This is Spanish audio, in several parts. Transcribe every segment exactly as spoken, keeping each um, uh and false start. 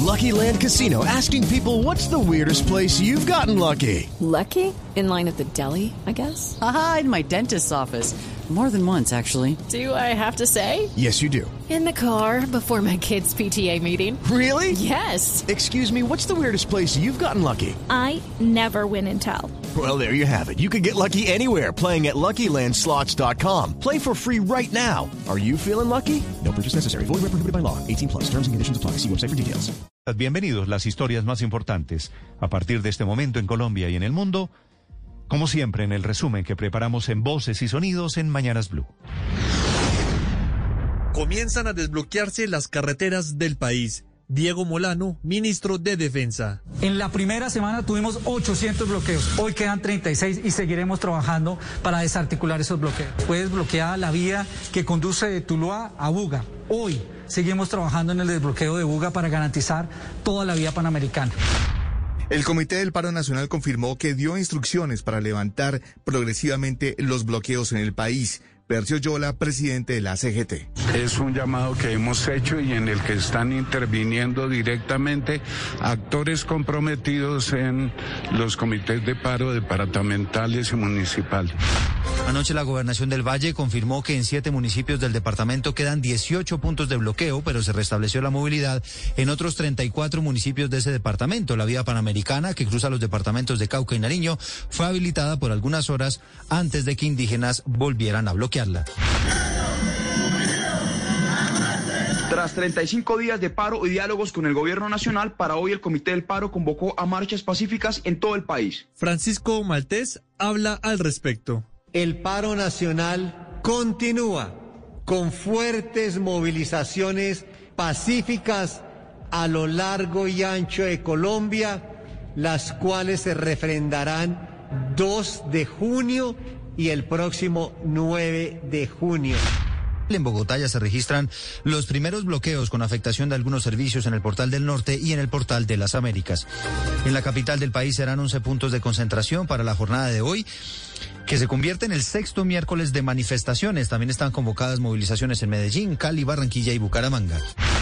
Lucky Land Casino, asking people, what's the weirdest place you've gotten lucky? Lucky? In line at the deli, I guess? Aha, in my dentist's office. More than once, actually. Do I have to say? Yes, you do. In the car before my kids' P T A meeting. Really? Yes. Excuse me, what's the weirdest place you've gotten lucky? I never win and tell. Well, there you have it. You can get lucky anywhere, playing at Lucky Land Slots dot com. Play for free right now. Are you feeling lucky? No purchase necessary. Void where prohibited by law. eighteen plus. Terms and conditions apply. See website for details. Bienvenidos, las historias más importantes a partir de este momento en Colombia y en el mundo, como siempre en el resumen que preparamos en Voces y Sonidos en Mañanas Blue. Comienzan a desbloquearse las carreteras del país. Diego Molano, ministro de Defensa. En la primera semana tuvimos ochocientos bloqueos, hoy quedan treinta y seis y seguiremos trabajando para desarticular esos bloqueos. Fue desbloqueada la vía que conduce de Tuluá a Buga. Hoy seguimos trabajando en el desbloqueo de Buga para garantizar toda la vía panamericana. El Comité del Paro Nacional confirmó que dio instrucciones para levantar progresivamente los bloqueos en el país. Percio Yola, presidente de la C G T. Es un llamado que hemos hecho y en el que están interviniendo directamente actores comprometidos en los comités de paro departamentales y municipales. Anoche la Gobernación del Valle confirmó que en siete municipios del departamento quedan dieciocho puntos de bloqueo, pero se restableció la movilidad en otros treinta y cuatro municipios de ese departamento. La vía panamericana, que cruza los departamentos de Cauca y Nariño, fue habilitada por algunas horas antes de que indígenas volvieran a bloquearla. Tras treinta y cinco días de paro y diálogos con el gobierno nacional, para hoy el Comité del Paro convocó a marchas pacíficas en todo el país. Francisco Maltés habla al respecto. El paro nacional continúa con fuertes movilizaciones pacíficas a lo largo y ancho de Colombia, las cuales se refrendarán dos de junio y el próximo nueve de junio. En Bogotá ya se registran los primeros bloqueos con afectación de algunos servicios en el Portal del Norte y en el Portal de las Américas. En la capital del país serán once puntos de concentración para la jornada de hoy, que se convierte en el sexto miércoles de manifestaciones. También están convocadas movilizaciones en Medellín, Cali, Barranquilla y Bucaramanga.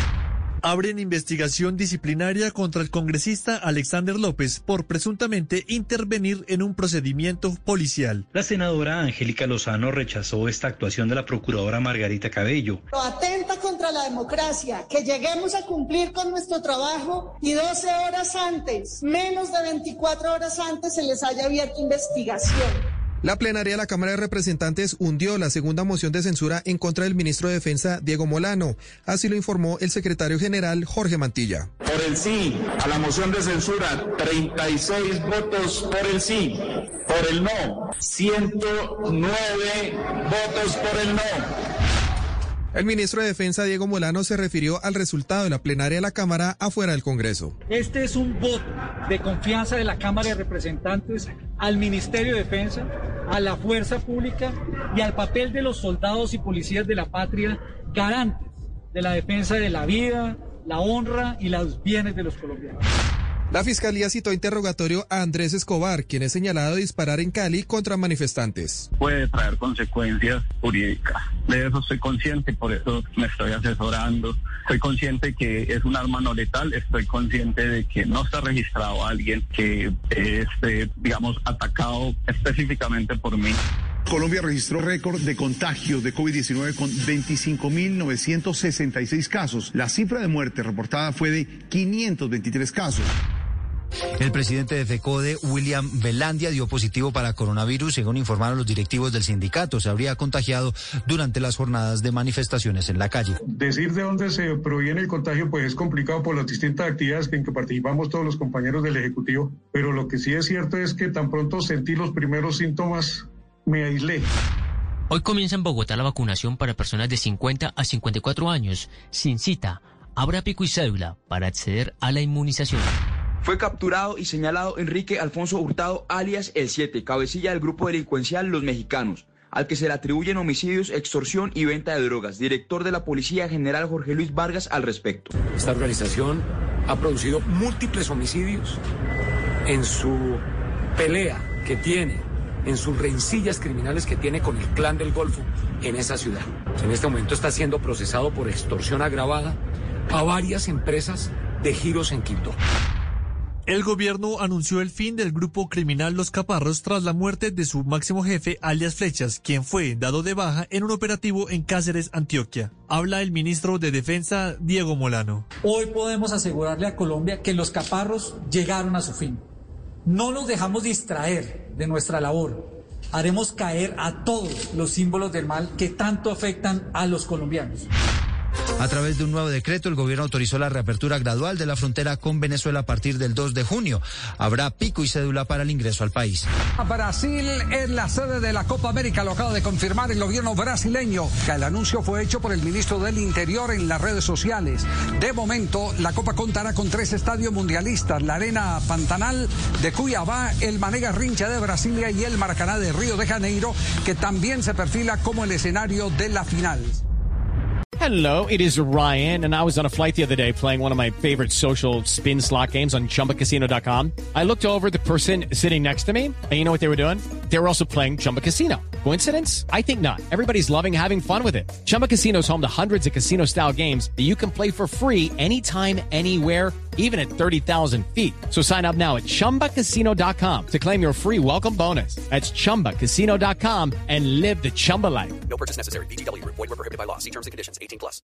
Abren investigación disciplinaria contra el congresista Alexander López por presuntamente intervenir en un procedimiento policial. La senadora Angélica Lozano rechazó esta actuación de la procuradora Margarita Cabello. Atenta contra la democracia, que lleguemos a cumplir con nuestro trabajo y doce horas antes, menos de veinticuatro horas antes, se les haya abierto investigación. La plenaria de la Cámara de Representantes hundió la segunda moción de censura en contra del ministro de Defensa, Diego Molano. Así lo informó el secretario general, Jorge Mantilla. Por el sí a la moción de censura, treinta y seis votos por el sí. Por el no, ciento nueve votos por el no. El ministro de Defensa, Diego Molano, se refirió al resultado de la plenaria de la Cámara afuera del Congreso. Este es un voto de confianza de la Cámara de Representantes al Ministerio de Defensa, a la fuerza pública y al papel de los soldados y policías de la patria, garantes de la defensa de la vida, la honra y los bienes de los colombianos. La Fiscalía citó interrogatorio a Andrés Escobar, quien es señalado de disparar en Cali contra manifestantes. Puede traer consecuencias jurídicas. De eso estoy consciente, por eso me estoy asesorando. Estoy consciente que es un arma no letal, estoy consciente de que no está registrado a alguien que esté, digamos, atacado específicamente por mí. Colombia registró récord de contagios de COVID diecinueve con veinticinco mil novecientos sesenta y seis casos. La cifra de muerte reportada fue de quinientos veintitrés casos. El presidente de FECODE, William Velandia, dio positivo para coronavirus, según informaron los directivos del sindicato. Se habría contagiado durante las jornadas de manifestaciones en la calle. Decir de dónde se proviene el contagio pues es complicado por las distintas actividades en que participamos todos los compañeros del Ejecutivo, pero lo que sí es cierto es que tan pronto sentí los primeros síntomas, me aislé. Hoy comienza en Bogotá la vacunación para personas de cincuenta a cincuenta y cuatro años, sin cita. Habrá pico y cédula para acceder a la inmunización. Fue capturado y señalado Enrique Alfonso Hurtado, alias El siete, cabecilla del grupo delincuencial Los Mexicanos, al que se le atribuyen homicidios, extorsión y venta de drogas. Director de la Policía General Jorge Luis Vargas al respecto. Esta organización ha producido múltiples homicidios en su pelea que tiene, en sus rencillas criminales que tiene con el Clan del Golfo en esa ciudad. En este momento está siendo procesado por extorsión agravada a varias empresas de giros en Quibdó. El gobierno anunció el fin del grupo criminal Los Caparros tras la muerte de su máximo jefe, alias Flechas, quien fue dado de baja en un operativo en Cáceres, Antioquia. Habla el ministro de Defensa, Diego Molano. Hoy podemos asegurarle a Colombia que los Caparros llegaron a su fin. No nos dejamos distraer de nuestra labor. Haremos caer a todos los símbolos del mal que tanto afectan a los colombianos. A través de un nuevo decreto, el gobierno autorizó la reapertura gradual de la frontera con Venezuela a partir del dos de junio. Habrá pico y cédula para el ingreso al país. Brasil es la sede de la Copa América, lo acaba de confirmar el gobierno brasileño. El anuncio fue hecho por el ministro del Interior en las redes sociales. De momento, la Copa contará con tres estadios mundialistas: la Arena Pantanal de Cuiabá, el Mané Garrincha de Brasilia y el Maracaná de Río de Janeiro, que también se perfila como el escenario de la final. Hello, it is Ryan, and I was on a flight the other day playing one of my favorite social spin slot games on Chumba Casino dot com. I looked over at the person sitting next to me, and you know what they were doing? They were also playing Chumba Casino. Coincidence? I think not. Everybody's loving having fun with it. Chumba Casino is home to hundreds of casino-style games that you can play for free anytime, anywhere, even at thirty thousand feet. So sign up now at Chumba Casino dot com to claim your free welcome bonus. That's Chumba Casino dot com and live the Chumba life. No purchase necessary. V G W. Void where prohibited by law. See terms and conditions. eighteen plus.